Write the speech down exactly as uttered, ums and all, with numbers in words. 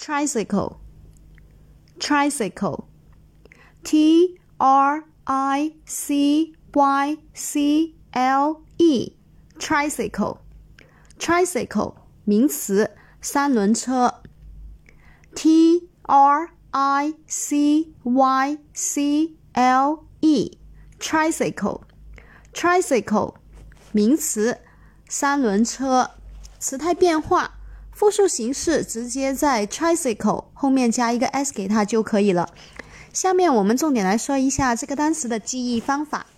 tricycle tricycle T R I C Y C L E tricycle tricycle 名词，三轮车。T R I C Y C L E tricycle tricycle 名词，三轮车。词态变化，复数形式直接在 tricycle 后面加一个 s 给它就可以了。下面我们重点来说一下这个单词的记忆方法。